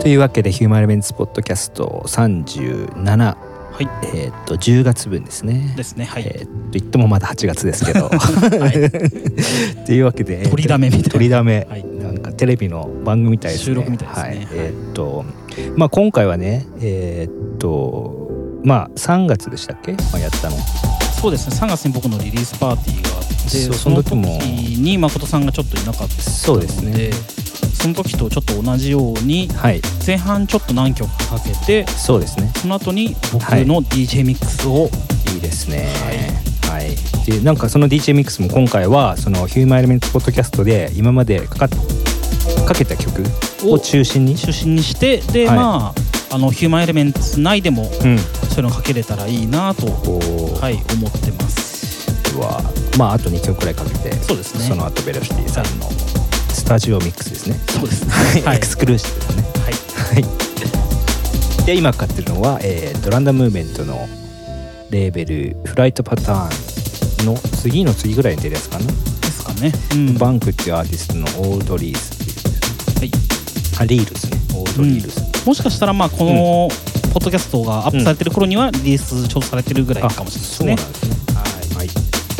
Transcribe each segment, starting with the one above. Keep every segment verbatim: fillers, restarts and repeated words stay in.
というわけでヒューマンエレメンツポッドキャストさんじゅうなな、 はい、 えー、っとじゅうがつぶんですね。 ですね。はい。 えー、と言ってもまだはちがつですけど。はい。というわけで、 取りだめみたいな。 取りだめ、 はい、 なんかテレビの番組みたいですね。 収録みたいですね。はい、 えー、っとまあ今回はね、えー、っとまあさんがつでしたっけ、まあ、やったの。 そうですね。さんがつに僕のリリースパーティーがあって、 そ, その時に誠さんがちょっといなかったので、 そうですね。 その時とちょっと同じように、はい、前半ちょっと何曲かかけて、 そうですね。 その後に僕の ディージェー ミックスを、 はい、いいですね。はい。はい、でなんかその ディージェー ミックスも今回はそのヒューマンエレメンツポッドキャストで今までかかかけた曲を中心に中心にして、で、はい、まああのヒューマンエレメンツ内でも、うん、そういうのをかけれたらいいなと、はい、思ってます。 はまああとにきょくくらいかけて、 そうですね。 その後ベロシティさんの、はい、スタジオミックスですね。 そうですね。 はい、エクスクルーシブですね。はい。はい。で今かかってるのは、えー、とランダムムーブメントのレーベルフライトパターンの次の次ぐらいに出るやつかな。 ですかね。 うん、バンクっていうアーティストのオールドリースっていう、はい、あリールスね。オールドリールス。うん、 もしかしたらまあこの、うん、ポッドキャストがアップされてる頃にはリリースちょうどされてるぐらいかもしれないですね。 そうなんですね。はい。はい。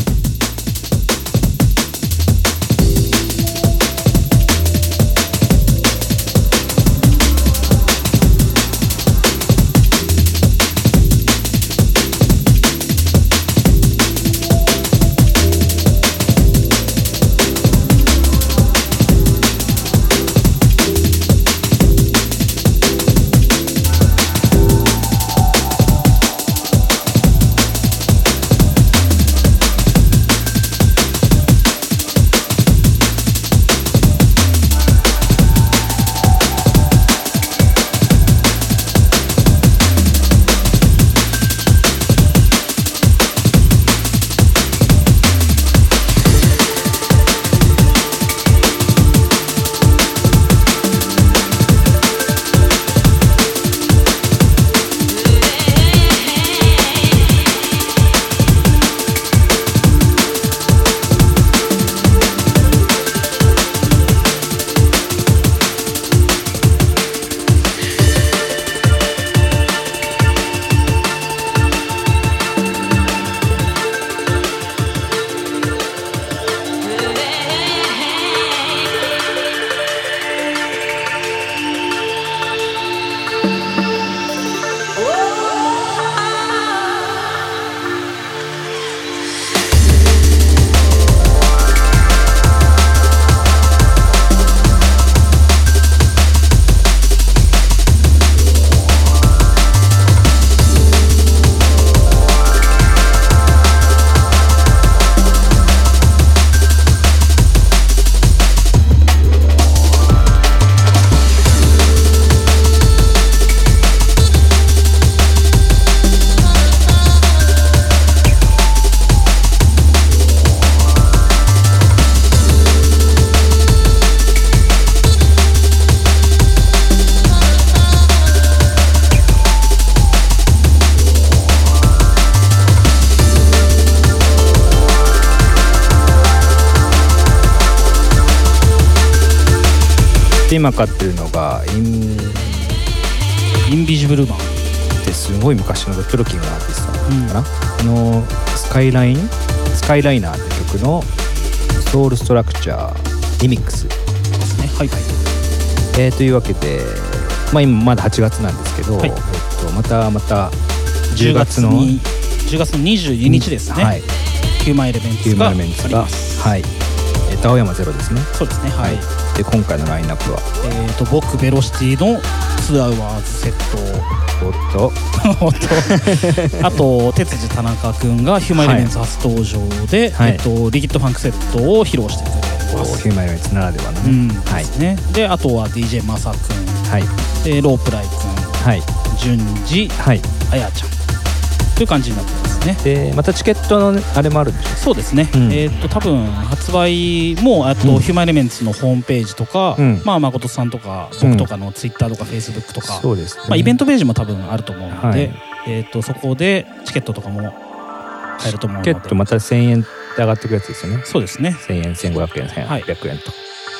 今買ってるのがインインビジブルマンってすごい昔のドットロッキングのアーティストなのかな、うん、あのスカイラインスカイライナーって曲のソウルストラクチャーリミックスですね。はいはい。 えー、というわけで、まあ、今まだはちがつなんですけど、はい、えっと、またまたじゅうがつのじゅうがつのにじゅうににちですね、はい、ヒューマンエレメンツがあります。 はい、えっと、青山ゼロですね。 そうですね。はい。 で今回のラインナップは、 えー、と僕ベロシティのツアーワーズセットおっとおっとあと哲司田中くんがヒューマンエレメンツ初登場で、はい、えー、とリキッドファンクセットを披露してくれます。 ヒューマンエレメンツならではのね、 うん、はい、ですね。であとは ディージェー マサくん、はい、でロープライくん、はい、順次、はい、あやちゃんという感じになってますね。 でまたチケットのあれもあるんでしょう。 そうですね、うん、えー、と多分発売もあと、うん、ヒューマンエレメンツのホームページとか、うん、まあ誠さんとか僕とかのツイッターとかフェイスブックとか、 そうですね、 まあ、イベントページも多分あると思うので、はい、えー、とそこでチケットとかも買えると思うので。 チケットまたせんえんで上がってくるやつですよね。 そうですね。 せんえん、せんごひゃくえん、せんはっぴゃくえんと、は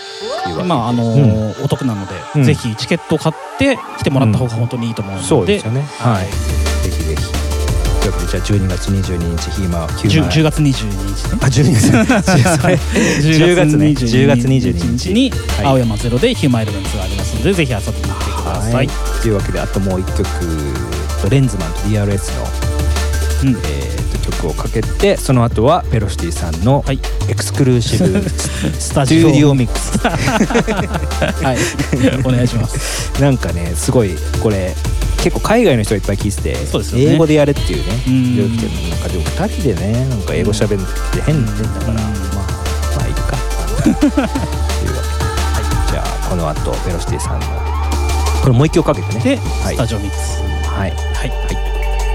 まああのーうん、お得なので、うん、ぜひチケットを買って来てもらった方が本当にいいと思うので、うん、 そうですよね。はい。ぜひぜひ。というわけでじゃあじゅうにがつにじゅうににちヒーマーヒューマーじゅうがつにじゅうににちね。 あじゅうにがつじゅうがつねじゅうがつにじゅうににちに青山ゼロでヒューマーエレメンツがありますのでぜひ遊びに来てください。はい、 というわけであともう一曲レンズマンと ディーアールエス の、うんえー、と曲をかけてその後はベロシティさんのエクスクルーシブスタジオデュオミックスはいお願いします。 なんかねすごいこれ結構海外の人がいっぱい聞いてて、そうですよね、英語でやれっていうね料理店の中でもふたりでねなんか英語喋るって変だから、まあまあいいかというわけで、はい、じゃあこの後ベロシティさんのこれもう一曲かけてねで、はい、スタジオミックスはいはいはい。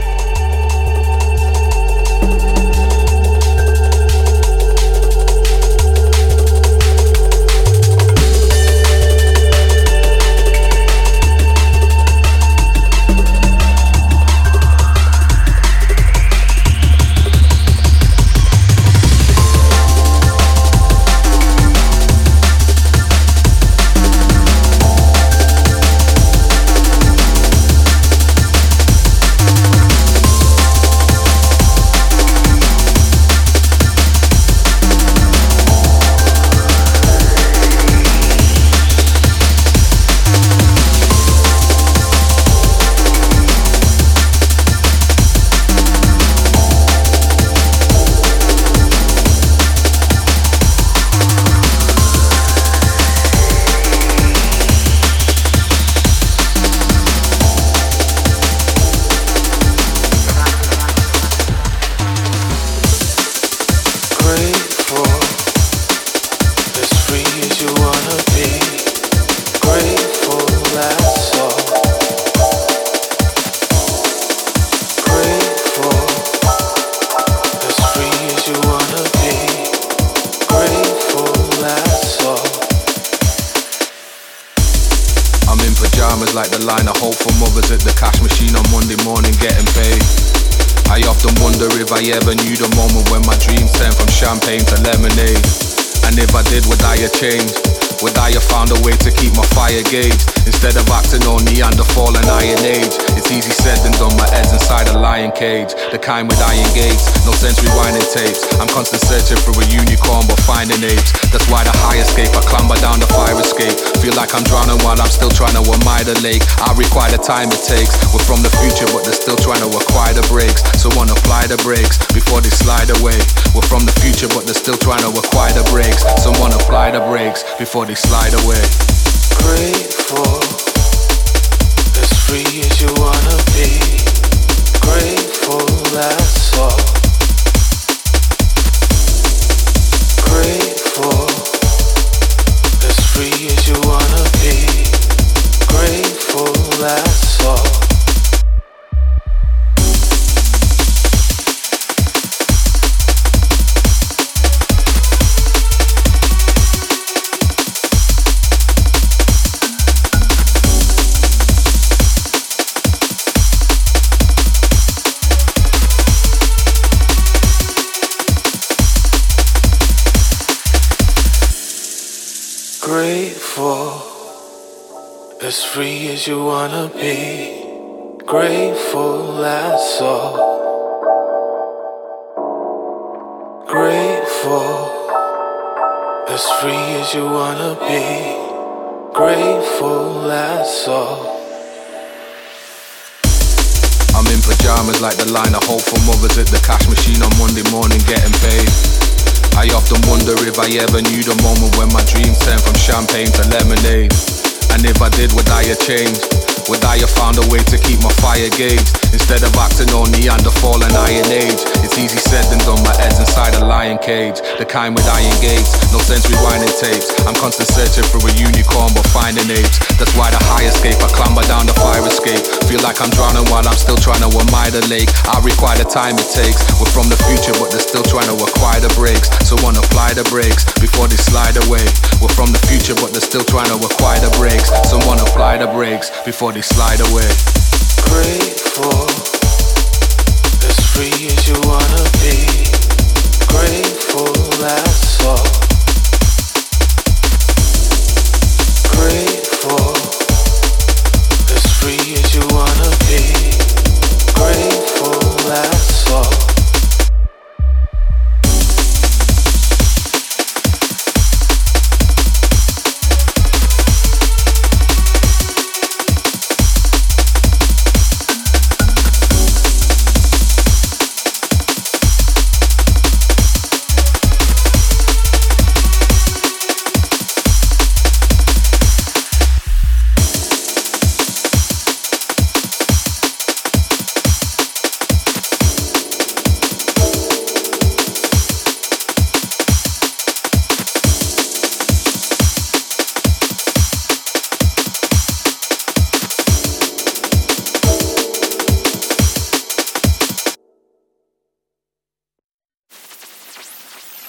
Like the line of hope for mothers at the cash machine on Monday morning getting paid. I often wonder if I ever knew the moment when my dreams turned from champagne to lemonade. And if I did, would I have changed? Would I have found a way to keep my fire gauged? Instead of acting on Neanderthal and Iron Age. It's easy said than done, my head's inside a lion cage. The kind with iron gates, no sense rewinding tapes. I'm constant searching for a unicorn but finding apes. That's why the high escape, I clamber down the fire escape. Feel like I'm drowning while I'm still trying to admire the lake. I require the time it takes. We're from the future but they're still trying to acquire the brakes. Someone apply the brakes before they slide away. We're from the future but they're still trying to acquire the brakes. Someone apply the brakes before they slide away. Grateful, as free as you wanna be. Grateful, that's all. Grateful, as free as you wanna be. Grateful, that's all. Grateful, as free as you wanna be. Grateful, that's all. Grateful, as free as you wanna be. Grateful, that's all. I'm in pajamas like the line of hope for mothers at the cash machine on Monday morning getting paid. I often wonder if I ever knew the moment when my dreams turned from champagne to lemonade. And if I did, would I have changed? Would I have found a way to keep my fire gauged? Instead of acting on Neanderthal and Iron Age. It's easy said than done, my head's inside a lion cage. The kind with iron gates, no sense rewinding tapes. I'm constant searching for a unicorn but finding apes. That's why the high escape, I clamber down the fire escape. Feel like I'm drowning while I'm still trying to admire the lake. I require the time it takes. We're from the future but they're still trying to acquire the brakes. Someone apply the brakes before they slide away. We're from the future but they're still trying to acquire the brakes. Someone apply the brakes before they slide away. Grateful, as free as you wanna be. Grateful, that's all.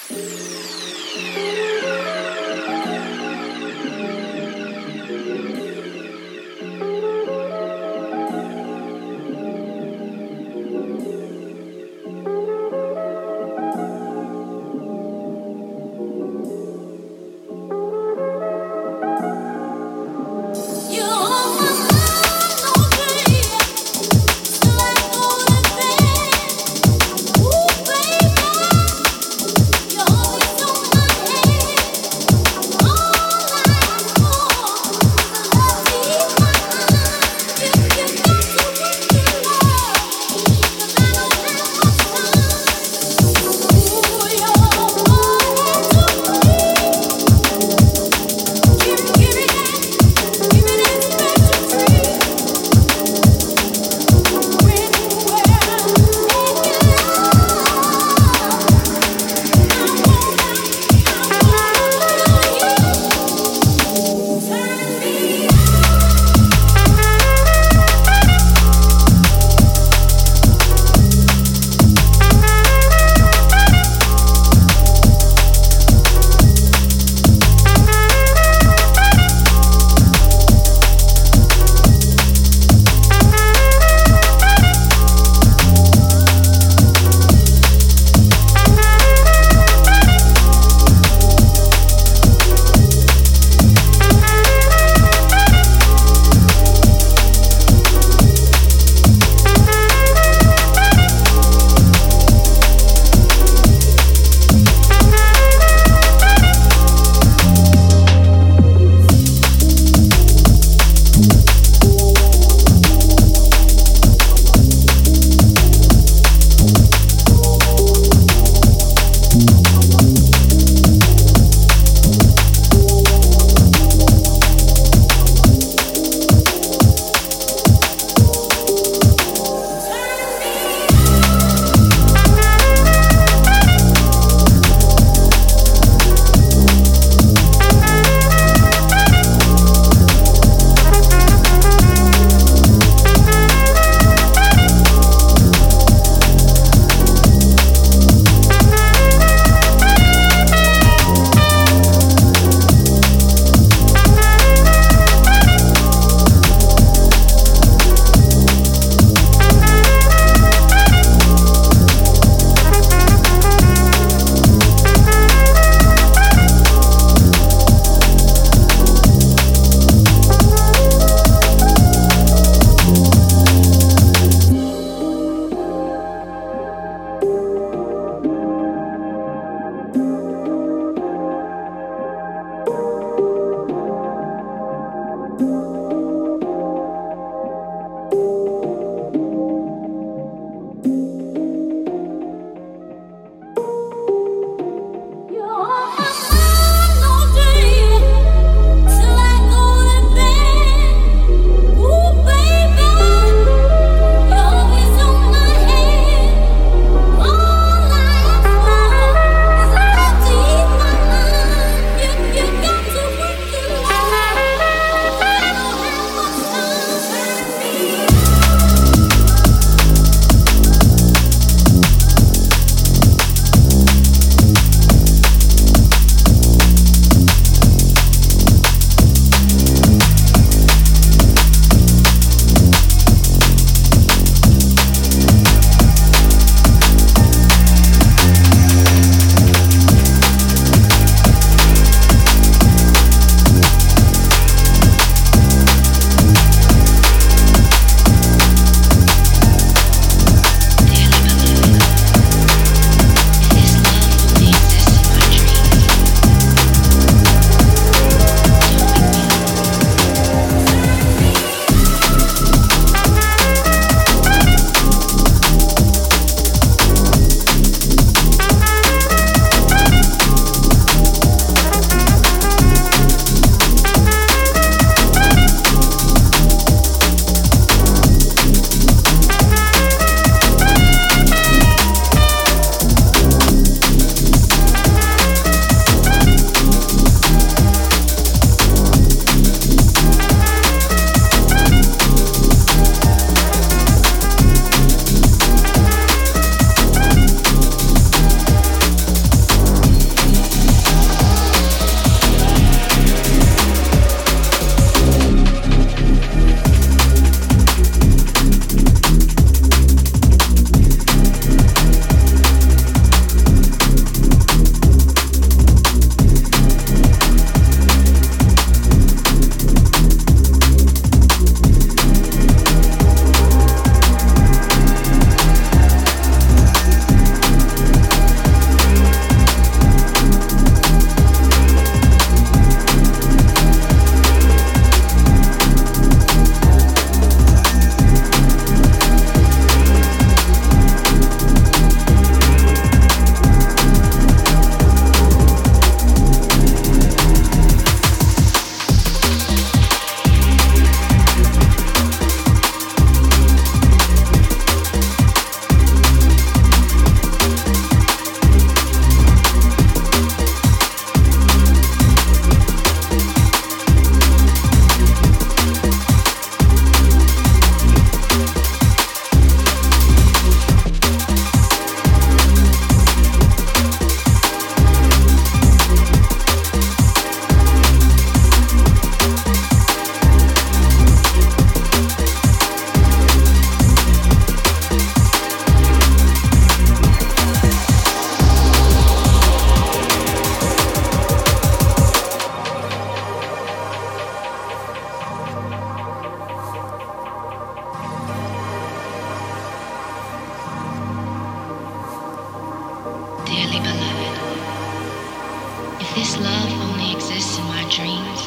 Ooh, baby, you're always This love only exists in my dreams.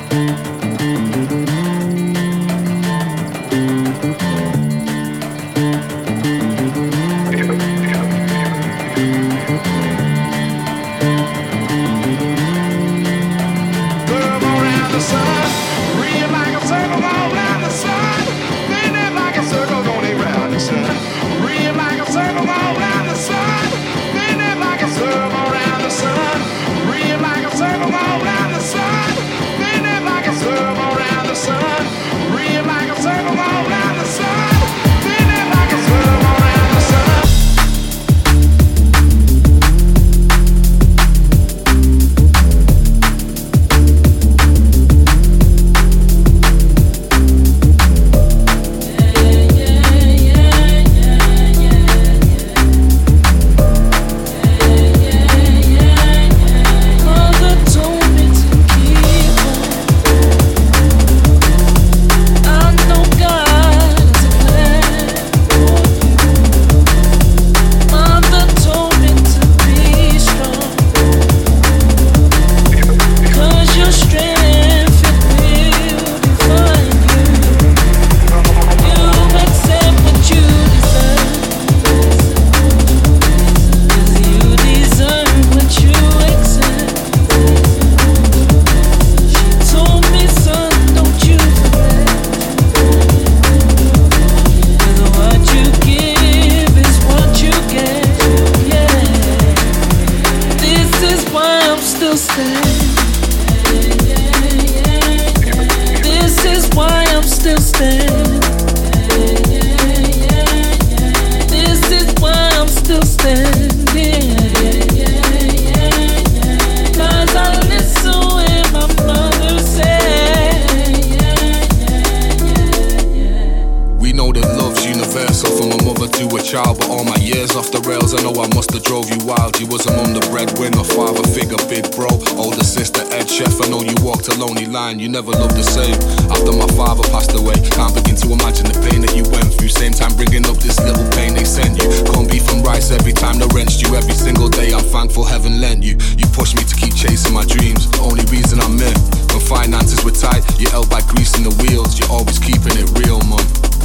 You never loved the same. After my father passed away, can't begin to imagine the pain that you went through. Same time bringing up this little pain they sent you. Corned beef and rice every time they wrenched you. Every single day I'm thankful heaven lent you. You pushed me to keep chasing my dreams. The only reason I'm in. When finances were tight, you held by greasing the wheels. You're always keeping it real, man.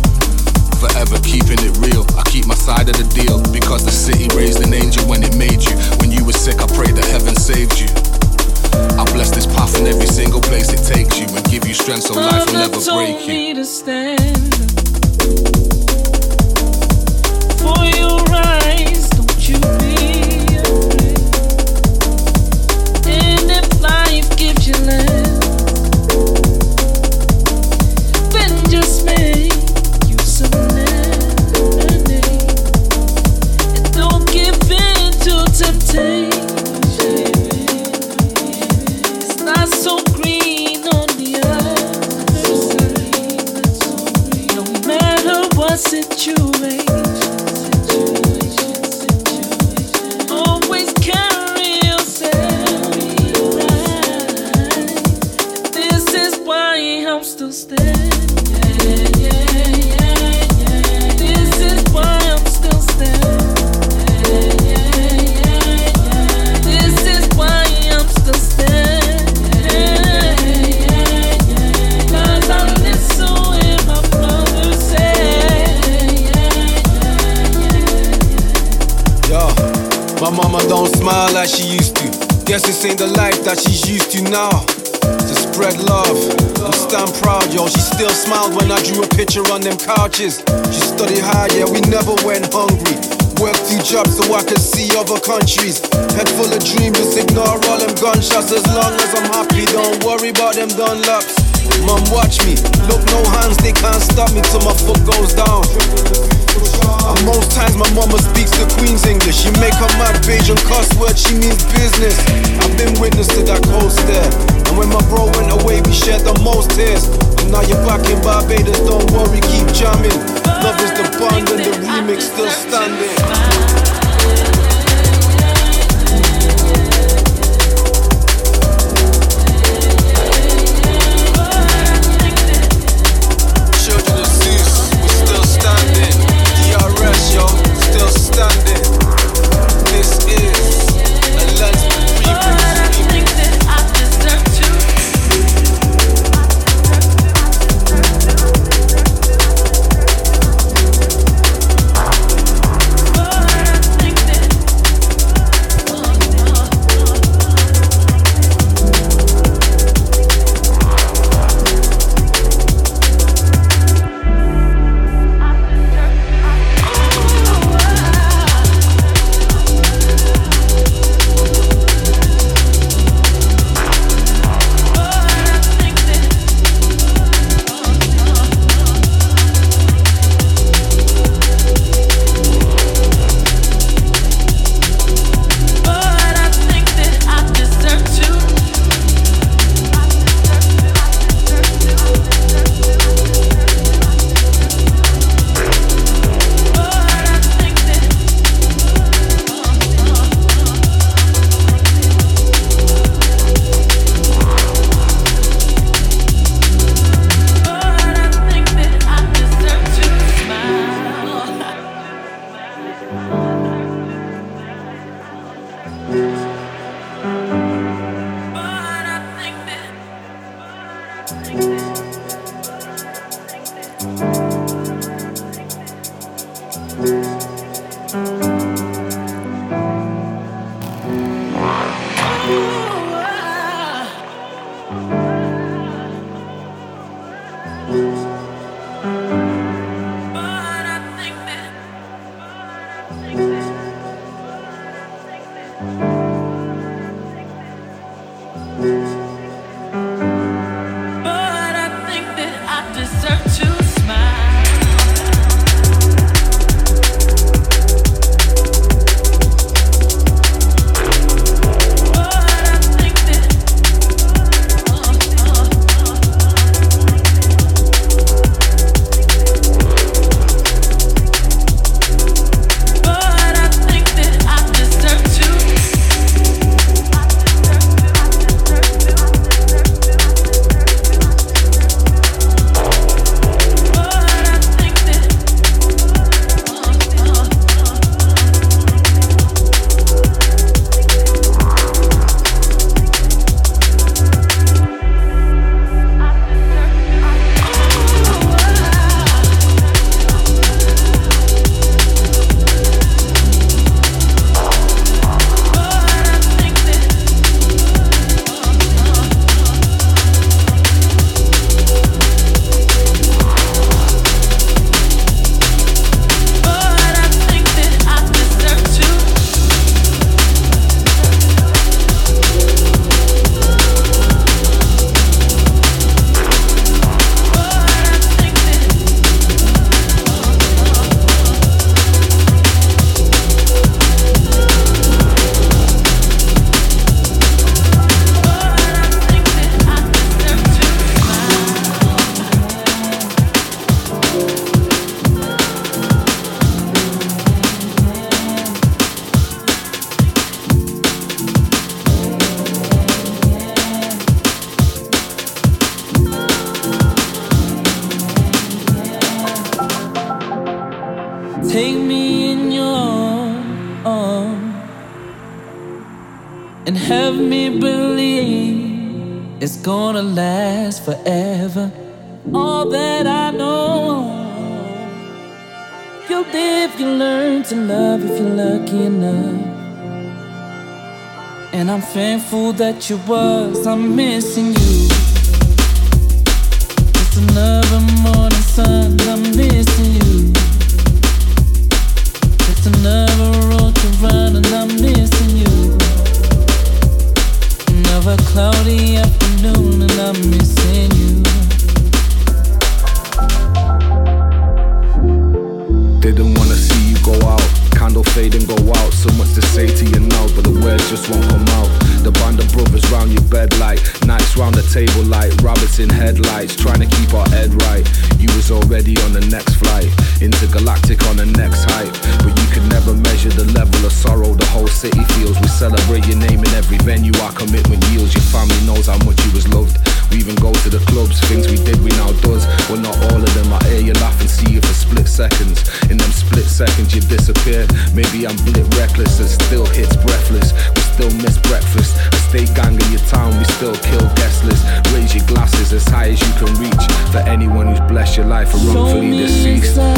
Forever keeping it real. I keep my side of the deal, because the city raised an angel when it made you. When you were sick, I prayed that heaven saved you. I bless this path in every single place it takes you, and give you strength so life will never break you. Me to stand for your rise, don't you be afraid. And if life gives you less, then just make you some lemonade, and don't give in to temptation. So green on the other side. No matter what situation, always carry yourself right. This is why I'm still standing. Yeah, yeah, yeah, yeah. This is why I'm still standing. Yeah, yeah, yeah, yeah. This is why I'm still standing. My mama don't smile like she used to. Guess this ain't the life that she's used to now. To spread love and stand proud, yo. She still smiled when I drew a picture on them couches. She studied hard, yeah, we never went hungry. Worked two jobs so I could see other countries. Head full of dreams, just ignore all them gunshots. As long as I'm happy, don't worry about them Dunlops. Mom, watch me, look, no hands, they can't stop me till my foot goes down. And most times my mama speaks the Queen's English. She make her mad page and cuss words, she means business. I've been witness to that cold stare. And when my bro went away, we shared the most tears. And now you're back in Barbados, don't worry, keep jamming. Love is the bond and the remix still standing. Yo, still standing. This is a Lens remix. Take me in your arms and have me believe it's gonna last forever. All that I know, you'll live, you learn to love if you're lucky enough. And I'm thankful that you was, I'm missing you. Just another morning sun, I'm missing you. Just another road to run and I'm missing you. Another cloudy afternoon and I'm missing you. Didn't wanna see you go out, candle fade and go out. So much to say to you now, but the words just won't come out. The band of brothers round your bed like nights round the table like rabbits in headlights, trying to keep our head right. You was already on the next flight, intergalactic on the next hype. But you could never measure the level of sorrow the whole city feels. We celebrate your name in every venue, our commitment yields. Your family knows how much you was loved. We even go to the clubs, things we did we now does. Well, not all of them, I hear you laugh and see you for split seconds. In them split seconds you disappear. Maybe I'm blit reckless and still hits breathless. We still miss breakfast, a state gang in your town, we still kill guest list. Raise your glasses as high as you can reach for anyone who's blessed your life or wrongfully deceased. So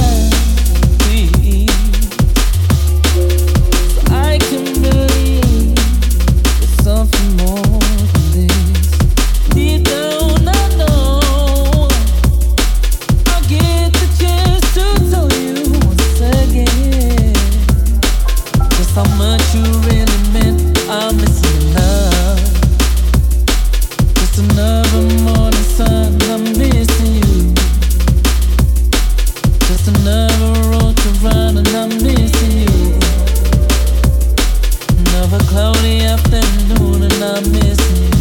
I can believe there's something more than this. Deep down I know I'll get the chance to tell you once again just how much you really meant. I'm missing love. Just another morning sun, I'm missing you. Just another road to run and I'm missing you. Another cloudy afternoon and I'm missing you.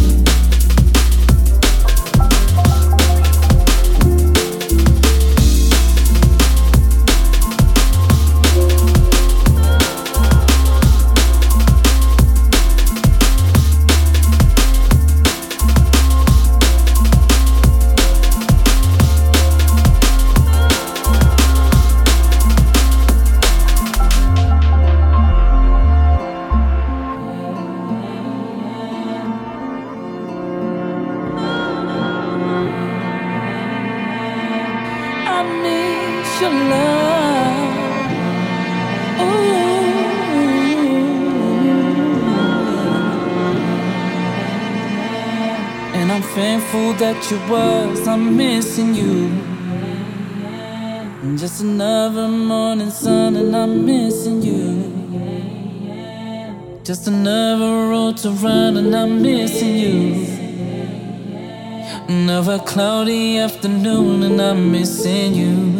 miss your love. Ooh. And I'm thankful that you was. I'm missing you. Just another morning sun and I'm missing you. Just another road to run and I'm missing you. Another cloudy afternoon and I'm missing you.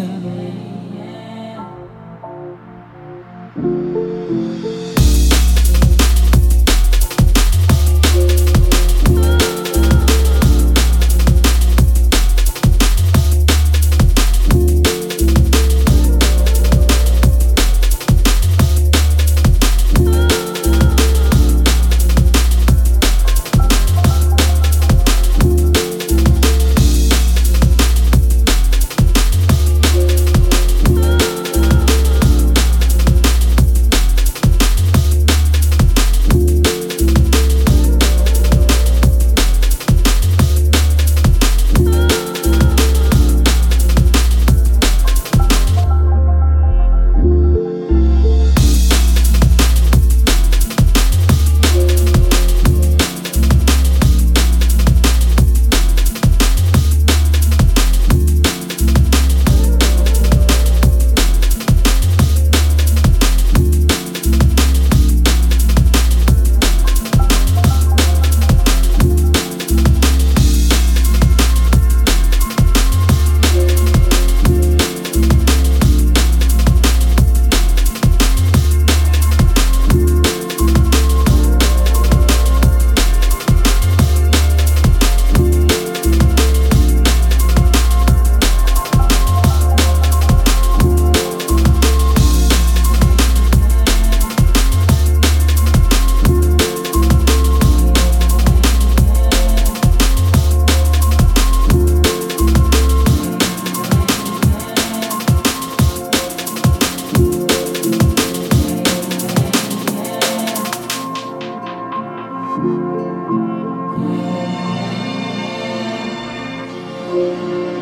Thank you.